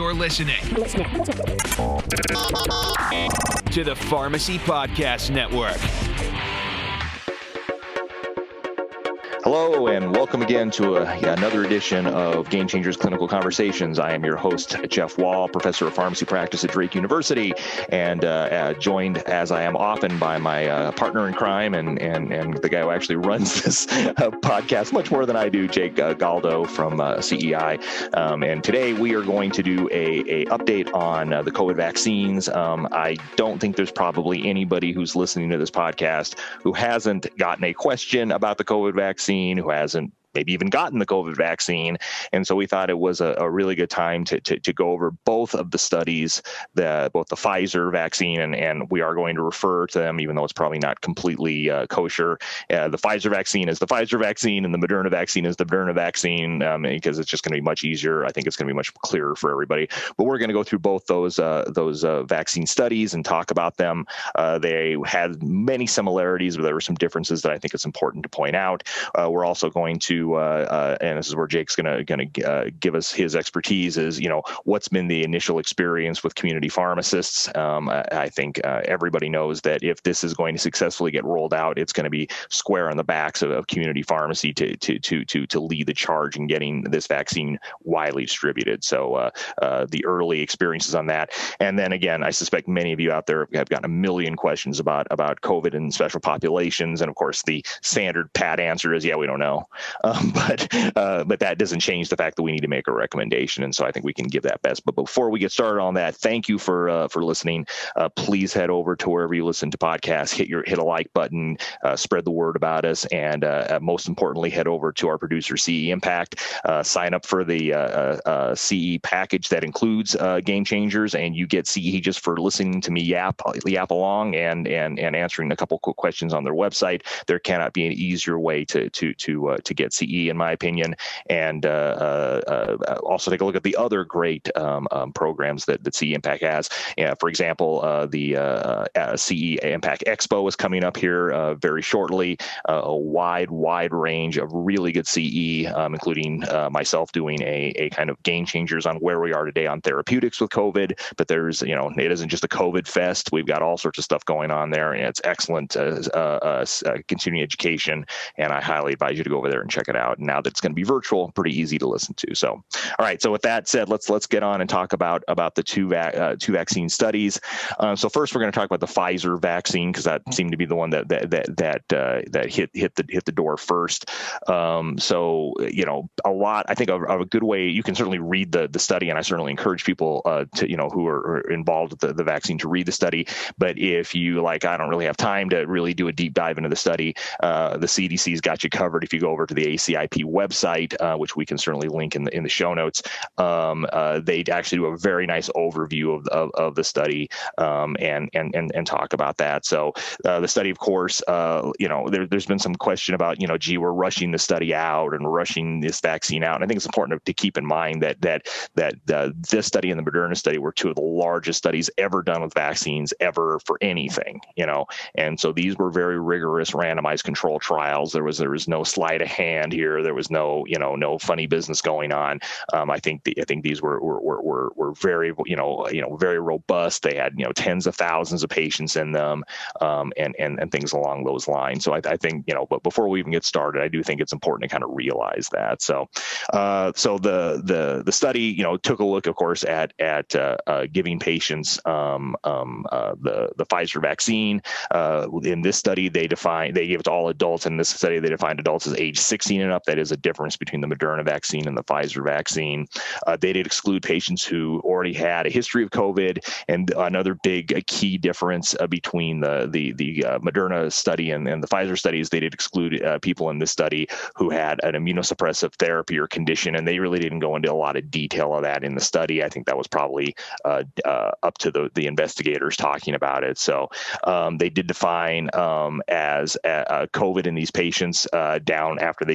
You're listening to the Pharmacy Podcast Network. Hello, and welcome again to another edition of Game Changers Clinical Conversations. I am your host, Jeff Wall, professor of pharmacy practice at Drake University, and joined, as I am often, by my partner in crime and the guy who actually runs this podcast much more than I do, Jake Galdo from CEI. And today we are going to do a update on the COVID vaccines. I don't think there's probably anybody who's listening to this podcast who hasn't gotten a question about the COVID vaccine, who hasn't maybe even gotten the COVID vaccine. And so we thought it was a really good time to go over both of the studies, both the Pfizer vaccine, and we are going to refer to them, even though it's probably not completely kosher. The Pfizer vaccine is the Pfizer vaccine, and the Moderna vaccine is the Moderna vaccine, because it's just going to be much easier. I think it's going to be much clearer for everybody. But we're going to go through both those vaccine studies and talk about them. They had many similarities, but there were some differences that I think it's important to point out. We're also going to and this is where Jake's going to give us his expertise, is, what's been the initial experience with community pharmacists. I think everybody knows that if this is going to successfully get rolled out, it's going to be square on the backs of community pharmacy to lead the charge in getting this vaccine widely distributed. So the early experiences on that, and then again, I suspect many of you out there have gotten a million questions about COVID and special populations, and of course the standard pat answer is, yeah, we don't know. But that doesn't change the fact that we need to make a recommendation, and so I think we can give that best. But before we get started on that, thank you for listening. Please head over to wherever you listen to podcasts, hit a like button, spread the word about us, and most importantly, head over to our producer CE Impact. Sign up for the CE package that includes Game Changers, and you get CE just for listening to me yap along and answering a couple quick questions on their website. There cannot be an easier way to get CE, in my opinion, and also take a look at the other great programs that CE Impact has. For example, the CE Impact Expo is coming up here very shortly. A wide range of really good CE, including myself doing a kind of game changers on where we are today on therapeutics with COVID. But there's, it isn't just a COVID fest. We've got all sorts of stuff going on there, and it's excellent continuing education, and I highly advise you to go over there and check it out. And now that it's going to be virtual, pretty easy to listen to. So, all right. So with that said, let's get on and talk about the two vaccine studies. So first, we're going to talk about the Pfizer vaccine, because that seemed to be the one that hit the door first. So a lot. I think of a good way, you can certainly read the study, and I certainly encourage people who are involved with the vaccine to read the study. But if you I don't really have time to really do a deep dive into the study, the CDC's got you covered. If you go over to the ACIP website, which we can certainly link in the show notes, they actually do a very nice overview of the study, and talk about that. So the study, of course, there's been some question about, gee, we're rushing the study out and we're rushing this vaccine out. And I think it's important to keep in mind that this study and the Moderna study were two of the largest studies ever done with vaccines ever for anything, and so these were very rigorous randomized control trials. There was no sleight of hand here. There was no funny business going on. I think these were very very robust. They had tens of thousands of patients in them, and things along those lines. So I think but before we even get started, I do think it's important to kind of realize that. So the study took a look, of course, at giving patients the Pfizer vaccine. In this study, they gave it to all adults. In this study, they defined adults as age 16 and up. That is a difference between the Moderna vaccine and the Pfizer vaccine. They did exclude patients who already had a history of COVID. And another big key difference between the Moderna study and the Pfizer studies, they did exclude people in this study who had an immunosuppressive therapy or condition. And they really didn't go into a lot of detail of that in the study. I think that was probably up to the investigators talking about it. So they did define as COVID in these patients down after they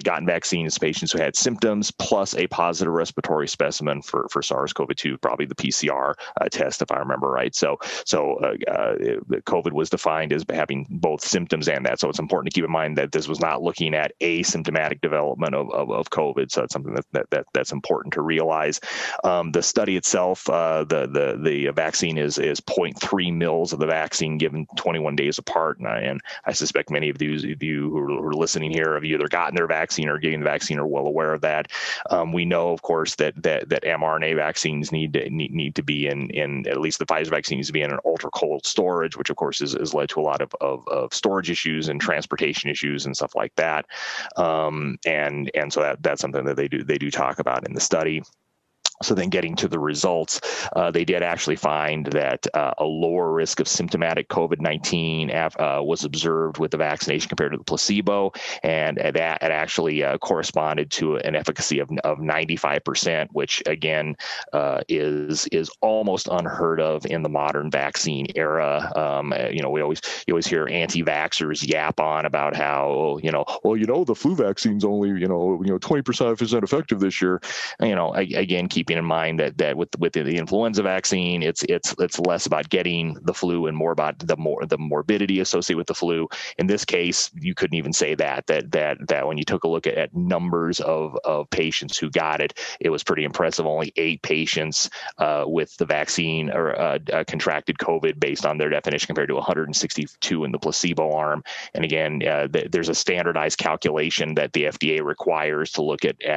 gotten vaccines, patients who had symptoms, plus a positive respiratory specimen for SARS-CoV-2, probably the PCR test, if I remember right. So COVID was defined as having both symptoms and that. So it's important to keep in mind that this was not looking at asymptomatic development of COVID. So it's something that's important to realize. The study itself, the vaccine is 0.3 mils of the vaccine given 21 days apart, and I suspect many of you who are listening here have either gotten their vaccine or getting the vaccine are well aware of that. We know, of course, that mRNA vaccines need to be in at least the Pfizer vaccine needs to be in an ultra cold storage, which of course has led to a lot of storage issues and transportation issues and stuff like that. And so that's something that they do talk about in the study. So then getting to the results, they did actually find that a lower risk of symptomatic COVID-19 was observed with the vaccination compared to the placebo, and that it actually corresponded to an efficacy of 95%, which again is almost unheard of in the modern vaccine era. You always hear anti-vaxxers yap on about how the flu vaccine's only 20% effective this year. Again, keeping in mind that with the influenza vaccine, it's less about getting the flu and more about the morbidity associated with the flu. In this case, you couldn't even say that when you took a look at numbers of patients who got it, it was pretty impressive. Only 8 patients with the vaccine or contracted COVID based on their definition compared to 162 in the placebo arm. And again, there's a standardized calculation that the FDA requires to look at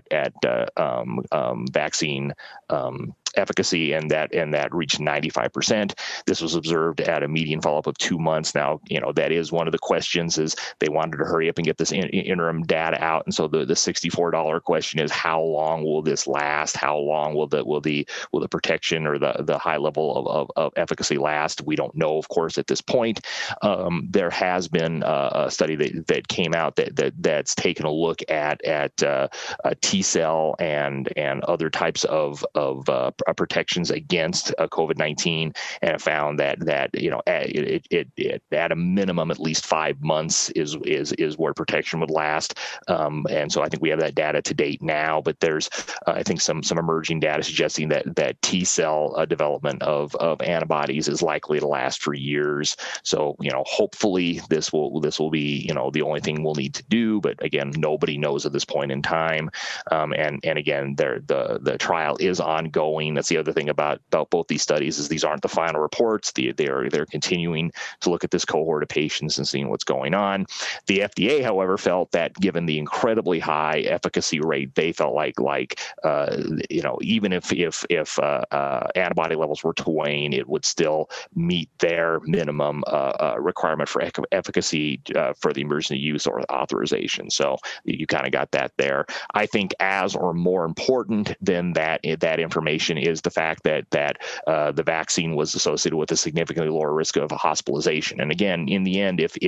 vaccine efficacy, and that reached 95%. This was observed at a median follow-up of 2 months. Now, that is one of the questions, is they wanted to hurry up and get this interim data out, and so the $64 question is, how long will this last? How long will the protection or the high level of efficacy last? We don't know, of course, at this point. There has been a study that came out that's taken a look at T cell and other types of protections against COVID-19, and have found that it at a minimum at least 5 months is where protection would last. And so I think we have that data to date now, but there's I think some emerging data suggesting that T cell development of antibodies is likely to last for years. So hopefully this will be the only thing we'll need to do, but again, nobody knows at this point in time. And again, the trial is ongoing. That's the other thing about both these studies, is these aren't the final reports. They're continuing to look at this cohort of patients and seeing what's going on. The FDA, however, felt that given the incredibly high efficacy rate, they felt like even if antibody levels were to wane, it would still meet their minimum requirement for efficacy for the emergency use or authorization. So you kind of got that there. I think as or more important than that information is the fact that the vaccine was associated with a significantly lower risk of hospitalization. And again, in the end, if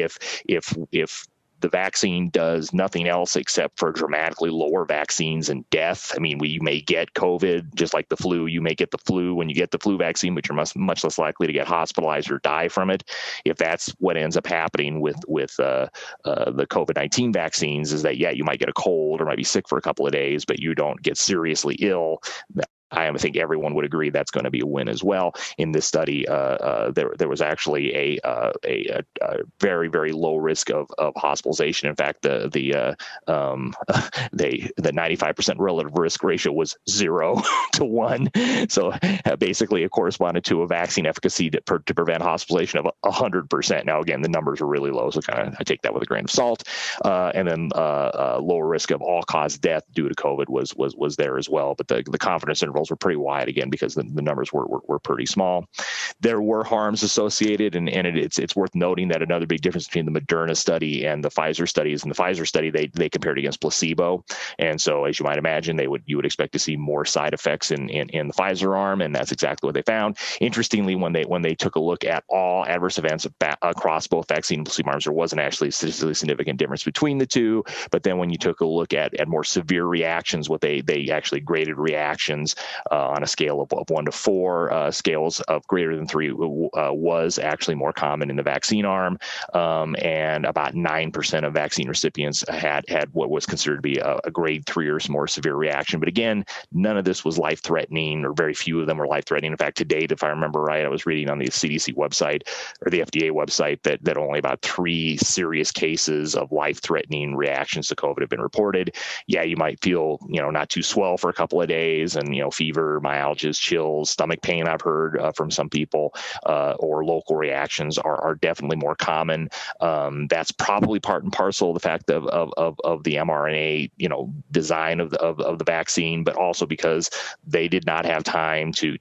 the vaccine does nothing else except for dramatically lower vaccines and death. I mean, we may get COVID just like the flu. You may get the flu when you get the flu vaccine, but you're much less likely to get hospitalized or die from it. If that's what ends up happening with the COVID-19 vaccines, is that, you might get a cold or might be sick for a couple of days, but you don't get seriously ill. I think everyone would agree that's going to be a win as well. In this study, there was actually a very, very low risk of hospitalization. In fact, the 95% relative risk ratio was 0 to 1. So basically, it corresponded to a vaccine efficacy to prevent hospitalization of 100%. Now, again, the numbers are really low, so I take that with a grain of salt. And then lower risk of all-cause death due to COVID was there as well. But the confidence intervals were pretty wide, again, because the numbers were pretty small. There were harms associated, and it's worth noting that another big difference between the Moderna study and the Pfizer studies. In the Pfizer study, they compared against placebo, and so as you might imagine, you would expect to see more side effects in the Pfizer arm, and that's exactly what they found. Interestingly, when they took a look at all adverse events across both vaccine and placebo arms, there wasn't actually a statistically significant difference between the two. But then when you took a look at more severe reactions, what they actually graded reactions on a scale of 1 to 4. Scales of greater than 3 was actually more common in the vaccine arm, and about 9% of vaccine recipients had what was considered to be a grade 3 or more severe reaction. But again, none of this was life-threatening, or very few of them were life-threatening. In fact, to date, if I remember right, I was reading on the CDC website or the FDA website that only about 3 serious cases of life-threatening reactions to COVID have been reported. Yeah, you might feel, not too swell for a couple of days, and fever, myalgias, chills, stomach pain. I've heard from some people, or local reactions are definitely more common. That's probably part and parcel of the fact of the mRNA, design of the vaccine, but also because they did not have time to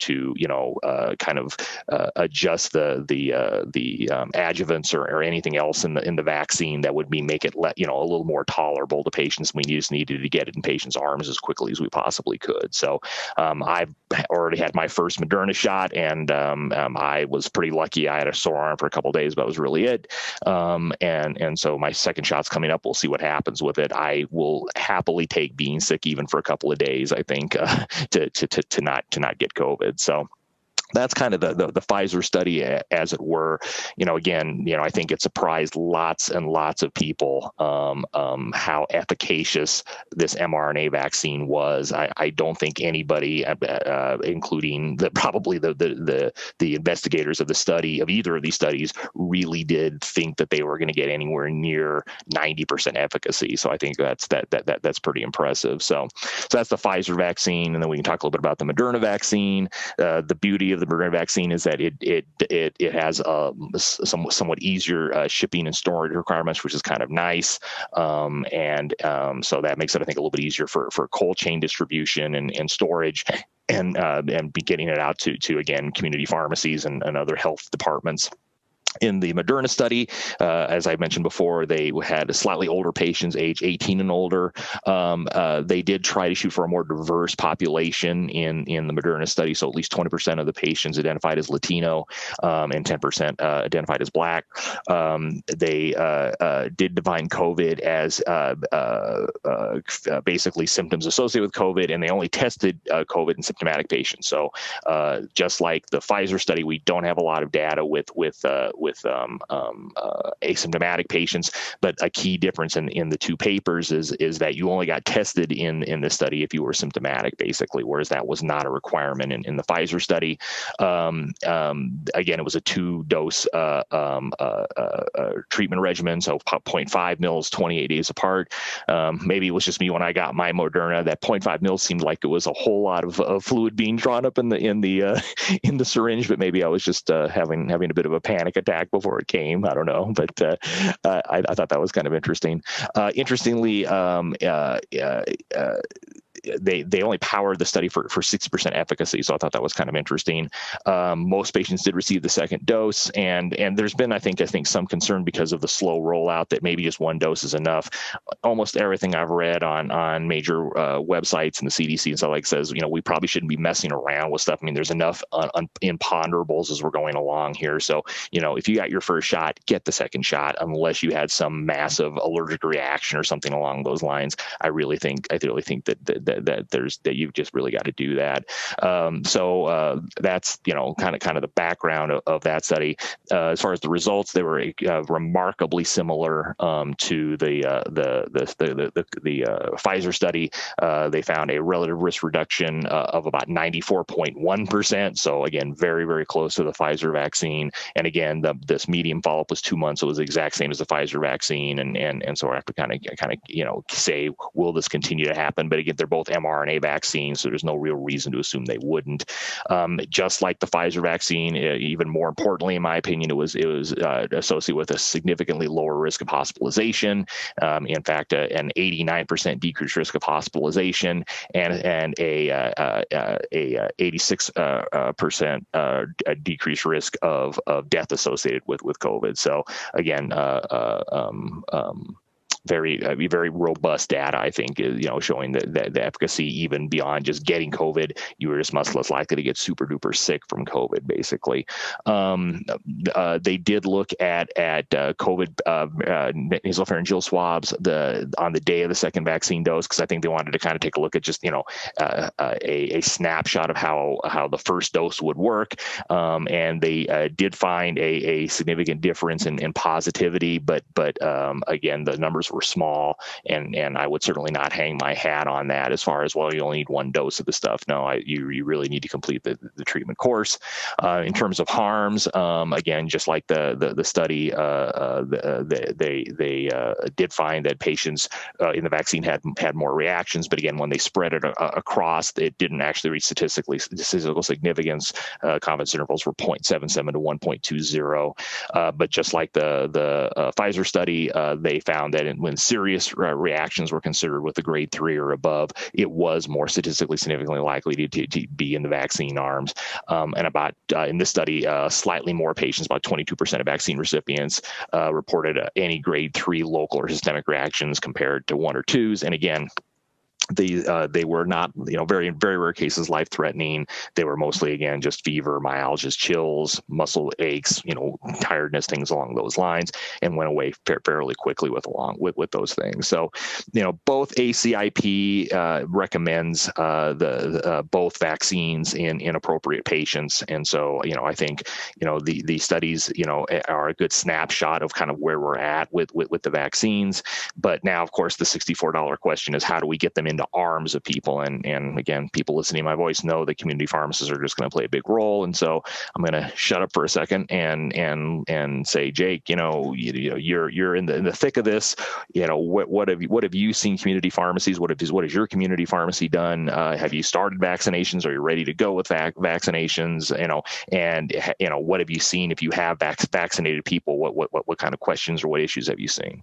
adjust the adjuvants or anything else in the vaccine that would make it a little more tolerable to patients. We just needed to get it in patients' arms as quickly as we possibly could. So I've already had my first Moderna shot, and I was pretty lucky. I had a sore arm for a couple of days, but that was really it. And so my second shot's coming up. We'll see what happens with it. I will happily take being sick even for a couple of days, I think, to not get COVID. So that's kind of the Pfizer study, as it were. Again, I think it surprised lots and lots of people how efficacious this mRNA vaccine was. I don't think anybody, including probably the investigators of the study, of either of these studies, really did think that they were going to get anywhere near 90% efficacy. So I think that's pretty impressive. So that's the Pfizer vaccine, and then we can talk a little bit about the Moderna vaccine. The beauty of the Moderna vaccine is that it has somewhat easier shipping and storage requirements, which is kind of nice, and so that makes it, I think, a little bit easier for cold chain distribution and storage, and be getting it out to again, community pharmacies and other health departments. In the Moderna study, as I mentioned before, they had slightly older patients, age 18 and older. They did try to shoot for a more diverse population in the Moderna study. So at least 20% of the patients identified as Latino, and 10% identified as Black. They did define COVID as basically symptoms associated with COVID, and they only tested COVID in symptomatic patients. So just like the Pfizer study, we don't have a lot of data with asymptomatic patients, but a key difference in the two papers is that you only got tested in the study if you were symptomatic, basically, whereas that was not a requirement in the Pfizer study. Again, it was a 2-dose treatment regimen, so 0.5 mils, 28 days apart. Maybe it was just me when I got my Moderna. That 0.5 mils seemed like it was a whole lot of fluid being drawn up in the syringe, but maybe I was just having a bit of a panic attack before it came. I don't know, but I thought that was kind of interesting. Interestingly, they only powered the study for 60% efficacy, so I thought that was kind of interesting. Most patients did receive the second dose, and there's been, I think, some concern because of the slow rollout that maybe just 1 dose is enough. Almost everything I've read on major websites and the CDC and stuff like says, we probably shouldn't be messing around with stuff. I mean, there's enough imponderables as we're going along here. So, if you got your first shot, get the second shot, unless you had some massive allergic reaction or something along those lines. I really think that you've just really got to do that. So that's kind of the background of that study. As far as the results, they were remarkably similar to the Pfizer study. They found a relative risk reduction of about 94.1%. So again, very, very close to the Pfizer vaccine. And again, this median follow-up was 2 months. So it was the exact same as the Pfizer vaccine. And so I have to kind of say, will this continue to happen? But again, they're both mRNA vaccines, so there's no real reason to assume they wouldn't. Just like the Pfizer vaccine, even more importantly, in my opinion, it was associated with a significantly lower risk of hospitalization. In fact, an 89% decreased risk of hospitalization and a 86% decreased risk of death associated with COVID. So again, very robust data, I think, showing that the efficacy even beyond just getting COVID, you were just much less likely to get super duper sick from COVID, basically. They did look at COVID nasopharyngeal swabs on the day of the second vaccine dose, because I think they wanted to kind of take a look at just a snapshot of how the first dose would work, and they did find a significant difference in positivity, but again, the numbers were small, and I would certainly not hang my hat on that as far as, well, you only need one dose of the stuff. No, you really need to complete the treatment course. In terms of harms, again, just like the study, they did find that patients in the vaccine had more reactions, but again, when they spread it across, it didn't actually reach statistical significance. Confidence intervals were 0.77 to 1.20. But just like the Pfizer study, they found that when serious reactions were considered with a grade 3 or above, it was more statistically significantly likely to be in the vaccine arms. And about in this study, slightly more patients, about 22% of vaccine recipients, reported any grade 3 local or systemic reactions compared to 1 or 2s. And again, they were not, very, very rare cases, life-threatening. They were mostly, again, just fever, myalgias, chills, muscle aches, tiredness, things along those lines, and went away fairly quickly with those things. So, both ACIP recommends both vaccines in appropriate patients, and so, I think, the studies, are a good snapshot of kind of where we're at with the vaccines. But now, of course, the $64 question is, how do we get them into arms of people? And again, people listening to my voice know that community pharmacists are just going to play a big role. And so I'm going to shut up for a second and say, Jake, you're in the thick of this. What have you seen community pharmacies? What has your community pharmacy done? Have you started vaccinations? Are you ready to go with vaccinations? And what have you seen? If you have vaccinated people, what kind of questions or what issues have you seen?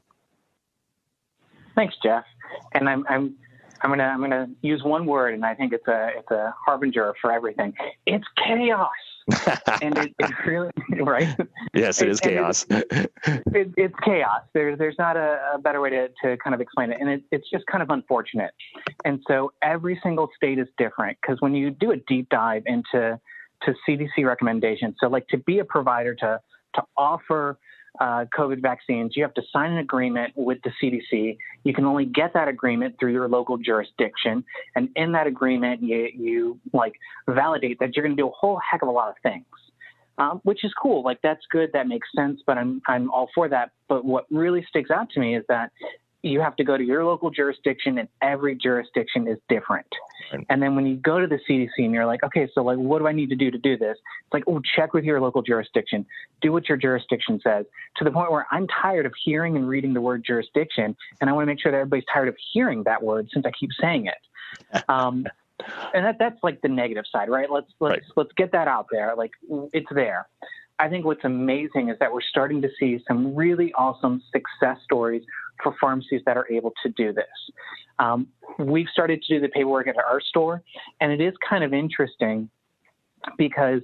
Thanks, Jeff. And I'm gonna use one word, and I think it's a harbinger for everything. It's chaos. And it really, right? Yes, it is chaos. It's chaos. There's not a better way to kind of explain it. And it's just kind of unfortunate. And so every single state is different, because when you do a deep dive into CDC recommendations, so like to be a provider to offer COVID vaccines, you have to sign an agreement with the CDC. You can only get that agreement through your local jurisdiction. And in that agreement, you like validate that you're going to do a whole heck of a lot of things, which is cool. Like, that's good. That makes sense. But I'm all for that. But what really sticks out to me is that you have to go to your local jurisdiction, and every jurisdiction is different. Right. And then when you go to the CDC and you're like, okay, so like, what do I need to do this? It's like, oh, check with your local jurisdiction. Do what your jurisdiction says, to the point where I'm tired of hearing and reading the word jurisdiction. And I want to make sure that everybody's tired of hearing that word, since I keep saying it. And that's like the negative side, right? Let's get that out there. Like, it's there. I think what's amazing is that we're starting to see some really awesome success stories for pharmacies that are able to do this. We've started to do the paperwork at our store, and it is kind of interesting because,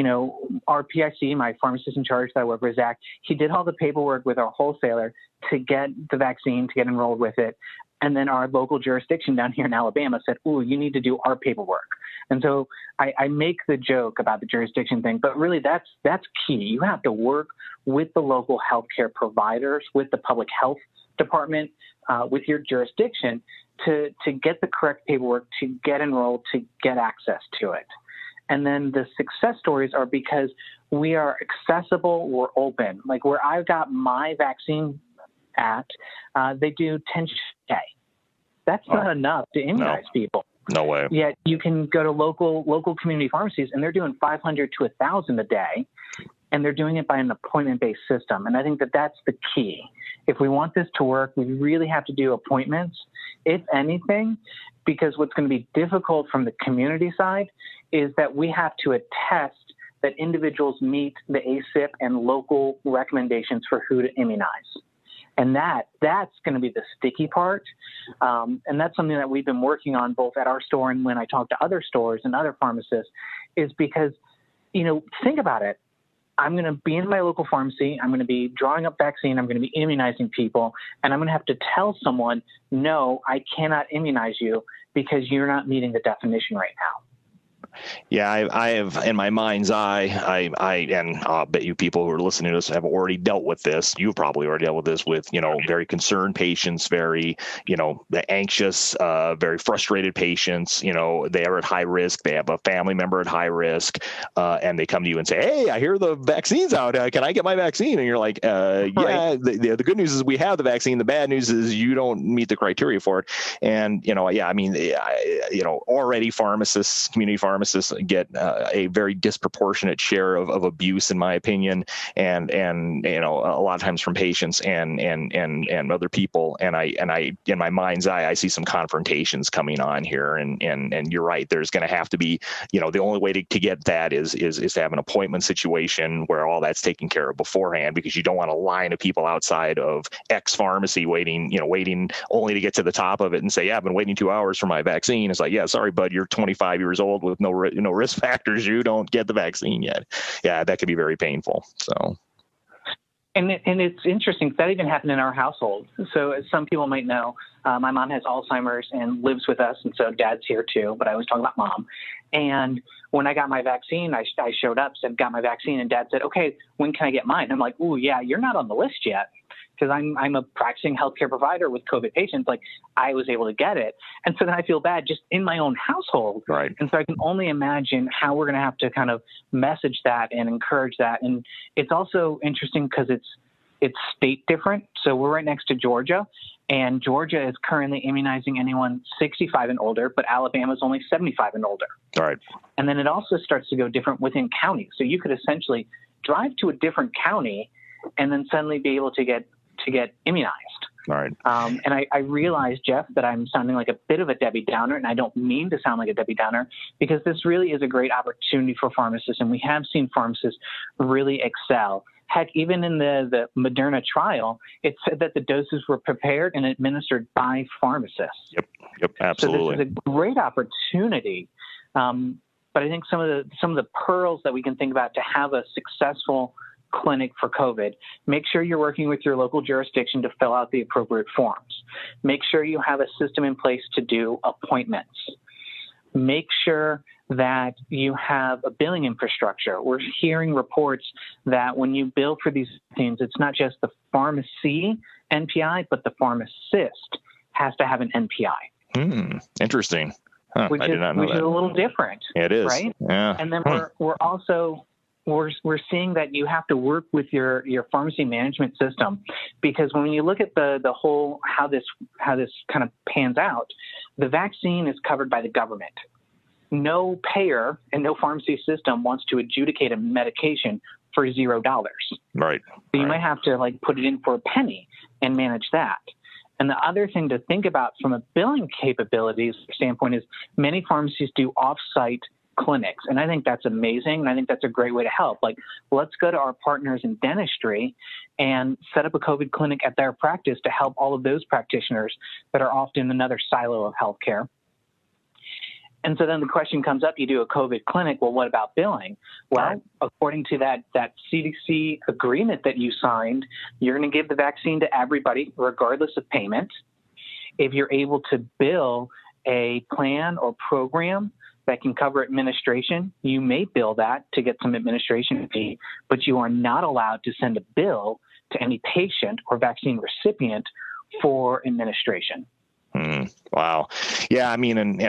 our PIC, my pharmacist in charge that I work with, Zach, he did all the paperwork with our wholesaler to get the vaccine, to get enrolled with it. And then our local jurisdiction down here in Alabama said, "Ooh, you need to do our paperwork." And so I make the joke about the jurisdiction thing, but really that's key. You have to work with the local healthcare providers, with the public health department, with your jurisdiction to get the correct paperwork, to get enrolled, to get access to it. And then the success stories are because we are accessible, we're open. Like, where I've got my vaccine at, they do 10 a day. That's not enough to immunize people. No way. Yet you can go to local community pharmacies, and they're doing 500 to 1,000 a day, and they're doing it by an appointment-based system. And I think that that's the key. If we want this to work, we really have to do appointments, if anything, because what's going to be difficult from the community side is that we have to attest that individuals meet the ACIP and local recommendations for who to immunize. And that's going to be the sticky part. And that's something that we've been working on both at our store and when I talk to other stores and other pharmacists, is because, think about it. I'm going to be in my local pharmacy. I'm going to be drawing up vaccine. I'm going to be immunizing people. And I'm going to have to tell someone, no, I cannot immunize you because you're not meeting the definition right now. Yeah, I have in my mind's eye, and I'll bet you people who are listening to this have already dealt with this. You've probably already dealt with this with, very concerned patients, very, anxious, very frustrated patients. They are at high risk. They have a family member at high risk, and they come to you and say, "Hey, I hear the vaccine's out. Can I get my vaccine?" And you're like, "Yeah." The good news is we have the vaccine. The bad news is you don't meet the criteria for it. And already pharmacists, community pharmacists get a very disproportionate share of abuse, in my opinion, and a lot of times from patients and other people. And I in my mind's eye, I see some confrontations coming on here. And you're right. There's going to have to be, the only way to get that is to have an appointment situation where all that's taken care of beforehand, because you don't want a line of people outside of X pharmacy waiting only to get to the top of it and say, "Yeah, I've been waiting 2 hours for my vaccine." It's like, "Yeah, sorry, bud, you're 25 years old with no risk factors. You don't get the vaccine yet." Yeah, that could be very painful. So. And it's interesting. That even happened in our household. So as some people might know, my mom has Alzheimer's and lives with us. And so dad's here too, but I was talking about mom. And when I got my vaccine, I showed up, said, "Got my vaccine." And dad said, "Okay, when can I get mine?" I'm like, "Ooh, yeah, you're not on the list yet." Because I'm a practicing healthcare provider with COVID patients. Like, I was able to get it. And so then I feel bad just in my own household. Right. And so I can only imagine how we're going to have to kind of message that and encourage that. And it's also interesting because it's state different. So we're right next to Georgia, and Georgia is currently immunizing anyone 65 and older, but Alabama is only 75 and older. All right. And then it also starts to go different within counties. So you could essentially drive to a different county and then suddenly be able to get immunized. All right. And I realize, Jeff, that I'm sounding like a bit of a Debbie Downer, and I don't mean to sound like a Debbie Downer, because this really is a great opportunity for pharmacists, and we have seen pharmacists really excel. Heck, even in the Moderna trial, it said that the doses were prepared and administered by pharmacists. Yep, absolutely. So this is a great opportunity. But I think some of the pearls that we can think about to have a successful clinic for COVID, make sure you're working with your local jurisdiction to fill out the appropriate forms. Make sure you have a system in place to do appointments. Make sure that you have a billing infrastructure. We're hearing reports that when you bill for these things, it's not just the pharmacy NPI, but the pharmacist has to have an NPI. Interesting. Huh, I did not know that. Which is a little different. It is. Right? Yeah. And then we're also we're seeing that you have to work with your pharmacy management system, because when you look at the whole how this kind of pans out, the vaccine is covered by the government. No payer and no pharmacy system wants to adjudicate a medication for $0. Right. So you might have to put it in for a penny and manage that. And the other thing to think about from a billing capabilities standpoint is many pharmacies do off-site clinics. And I think that's amazing. And I think that's a great way to help. Let's go to our partners in dentistry and set up a COVID clinic at their practice to help all of those practitioners that are often another silo of healthcare. And so then the question comes up, you do a COVID clinic, well, what about billing? Well, according to that CDC agreement that you signed, you're going to give the vaccine to everybody, regardless of payment. If you're able to bill a plan or program that can cover administration, you may bill that to get some administration fee, but you are not allowed to send a bill to any patient or vaccine recipient for administration. Wow. Yeah. I mean, and,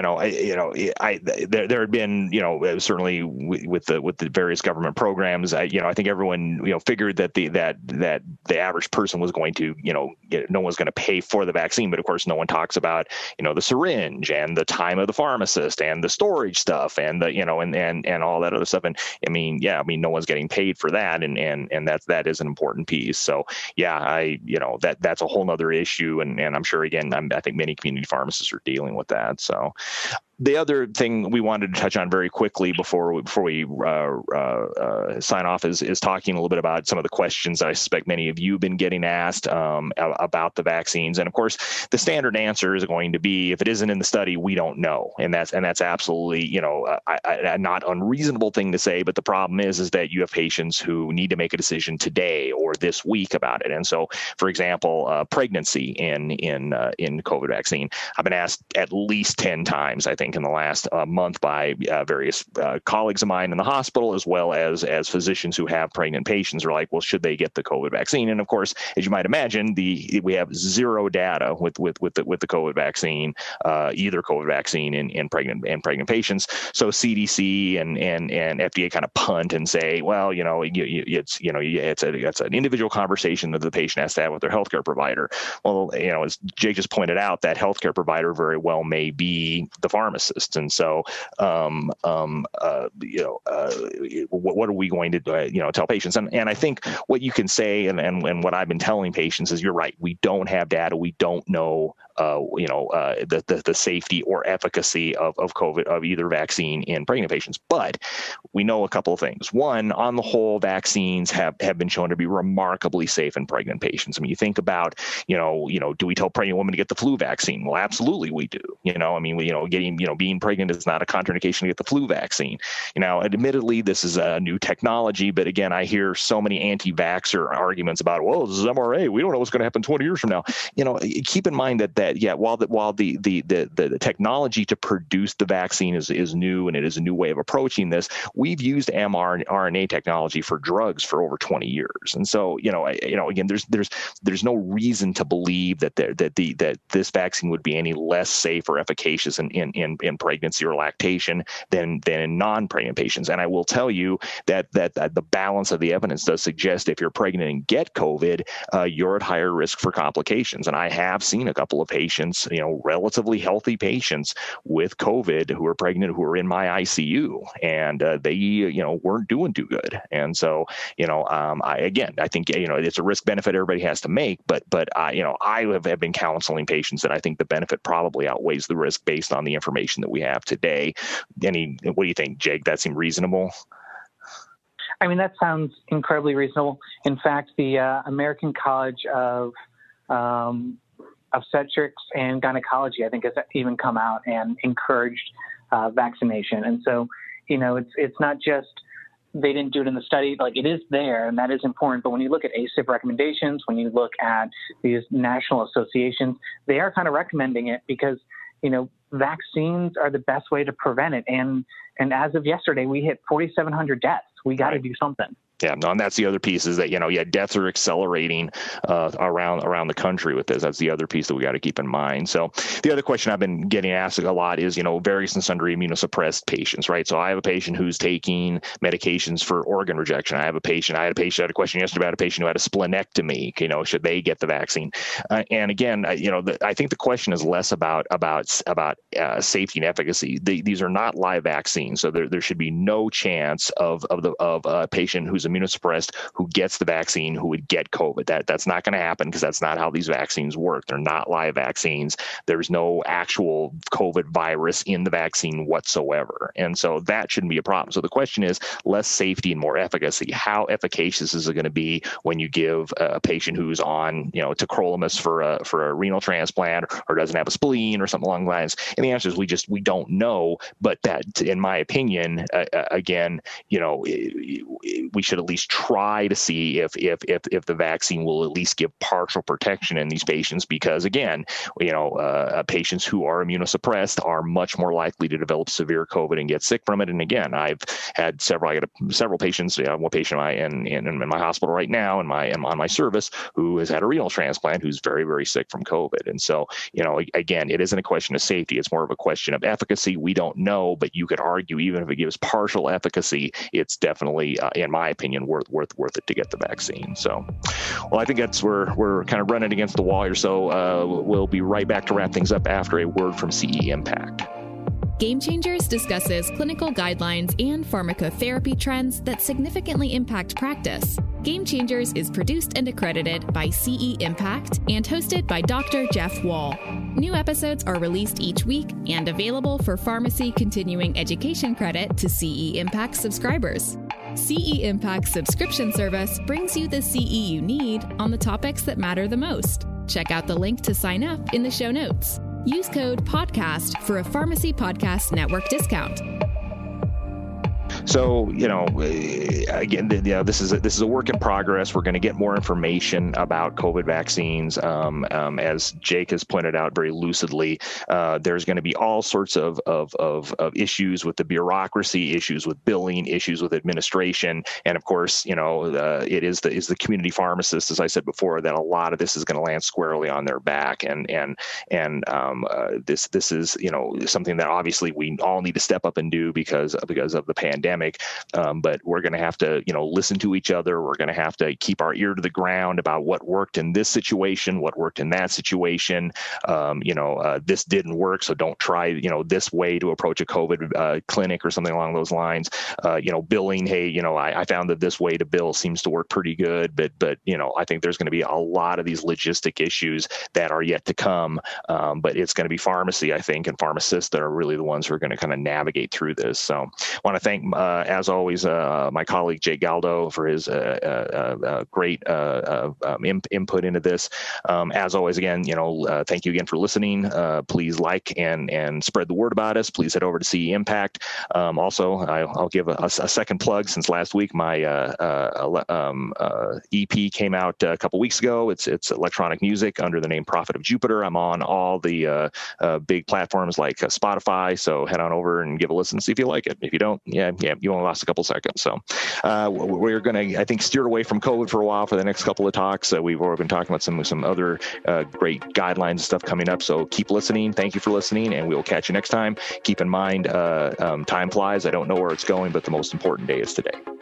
there had been, certainly with the various government programs, I think everyone, figured that the average person was going to, no one's going to pay for the vaccine. But of course, no one talks about, the syringe and the time of the pharmacist and the storage stuff and the, and all that other stuff. And no one's getting paid for that. And that is an important piece. So yeah, that's a whole nother issue. And I'm sure, again, I think many community pharmacists are dealing with that. So, The other thing we wanted to touch on very quickly before we sign off is talking a little bit about some of the questions that I suspect many of you have been getting asked about the vaccines. And of course, the standard answer is going to be, if it isn't in the study, we don't know. And that's absolutely, a not unreasonable thing to say. But the problem is that you have patients who need to make a decision today or this week about it. And so, for example, pregnancy in COVID vaccine, I've been asked at least 10 times, I think, in the last month by various colleagues of mine in the hospital, as well as physicians who have pregnant patients, are like, well, should they get the COVID vaccine? And of course, as you might imagine, we have zero data with the COVID vaccine, either COVID vaccine in pregnant patients. So CDC and FDA kind of punt and say, well, it's an individual conversation that the patient has to have with their healthcare provider. Well, as Jake just pointed out, that healthcare provider very well may be the pharmacist. And so, what are we going to tell patients? And I think what you can say, and what I've been telling patients is, you're right. We don't have data. We don't know, the safety or efficacy of COVID, of either vaccine in pregnant patients. But we know a couple of things. One, on the whole, vaccines have been shown to be remarkably safe in pregnant patients. I mean, you think about, do we tell pregnant women to get the flu vaccine? Well, absolutely we do. Being pregnant is not a contraindication to get the flu vaccine. Admittedly, this is a new technology, but again, I hear so many anti-vaxxer arguments about, well, this is mRNA. We don't know what's going to happen 20 years from now. Keep in mind that while the technology to produce the vaccine is new, and it is a new way of approaching this, we've used mRNA technology for drugs for over 20 years. And so, again, there's no reason to believe that this vaccine would be any less safe or efficacious in pregnancy or lactation than in non-pregnant patients. And I will tell you that the balance of the evidence does suggest if you're pregnant and get COVID, you're at higher risk for complications. And I have seen a couple of patients, relatively healthy patients with COVID who are pregnant, who are in my ICU, and they, weren't doing too good. And so, I think, it's a risk benefit everybody has to make, but I have been counseling patients that I think the benefit probably outweighs the risk based on the information that we have today. What do you think, Jake? That seem reasonable? I mean, that sounds incredibly reasonable. In fact, the American College of Obstetrics and Gynecology, I think, has even come out and encouraged vaccination. And so, it's not just they didn't do it in the study, like, it is there, and that is important. But when you look at ACIP recommendations, when you look at these national associations, they are kind of recommending it because, vaccines are the best way to prevent it. And as of yesterday, we hit 4,700 deaths. We got to do something. Yeah, no, and that's the other piece is that, deaths are accelerating around the country with this. That's the other piece that we got to keep in mind. So the other question I've been getting asked a lot is, various and sundry immunosuppressed patients, right? So I have a patient who's taking medications for organ rejection. I had a question yesterday about a patient who had a splenectomy. Should they get the vaccine? And again, I think the question is less about safety and efficacy. These are not live vaccines, so there should be no chance of a patient who's immunosuppressed who gets the vaccine who would get COVID. That's not going to happen because that's not how these vaccines work. They're not live vaccines. There's no actual COVID virus in the vaccine whatsoever. And so that shouldn't be a problem. So the question is less safety and more efficacy. How efficacious is it going to be when you give a patient who's on, tacrolimus for a renal transplant or doesn't have a spleen or something along the lines? And the answer is we don't know. But that, in my opinion, again, we should at least try to see if the vaccine will at least give partial protection in these patients, because again, patients who are immunosuppressed are much more likely to develop severe COVID and get sick from it. And again, I've had several patients, one patient in my hospital right now on my service who has had a renal transplant who's very, very sick from COVID. And so, again, it isn't a question of safety. It's more of a question of efficacy. We don't know, but you could argue even if it gives partial efficacy, it's definitely, in my opinion, worth it to get the vaccine. So, well, I think we're kind of running against the wall here. So we'll be right back to wrap things up after a word from CE Impact. Game Changers discusses clinical guidelines and pharmacotherapy trends that significantly impact practice. Game Changers is produced and accredited by CE Impact and hosted by Dr. Jeff Wall. New episodes are released each week and available for pharmacy continuing education credit to CE Impact subscribers. CE Impact subscription service brings you the CE you need on the topics that matter the most. Check out the link to sign up in the show notes. Use code PODCAST for a Pharmacy Podcast Network discount. So, again, this is a work in progress. We're going to get more information about COVID vaccines. As Jake has pointed out very lucidly, there's going to be all sorts of issues with the bureaucracy, issues with billing, issues with administration, and of course, it is the community pharmacists, as I said before, that a lot of this is going to land squarely on their back, and this is something that obviously we all need to step up and do because of the pandemic. But we're going to have to, listen to each other. We're going to have to keep our ear to the ground about what worked in this situation, what worked in that situation. This didn't work, so don't try, this way to approach a COVID clinic or something along those lines. Billing, hey, I found that this way to bill seems to work pretty good, but I think there's going to be a lot of these logistic issues that are yet to come. But it's going to be pharmacy, I think, and pharmacists that are really the ones who are going to kind of navigate through this. So I want to thank, as always, my colleague Jake Galdo for his great input into this. As always, again, thank you again for listening. Please like and spread the word about us. Please head over to CE Impact. Also, I'll give a second plug since last week. My EP came out a couple weeks ago. It's electronic music under the name Prophet of Jupiter. I'm on all the big platforms like Spotify. So head on over and give a listen, see if you like it. If you don't, yeah, you only lost a couple seconds. So we're going to, I think, steer away from COVID for a while for the next couple of talks. We've already been talking about some other great guidelines and stuff coming up. So keep listening. Thank you for listening, and we will catch you next time. Keep in mind, time flies. I don't know where it's going, but the most important day is today.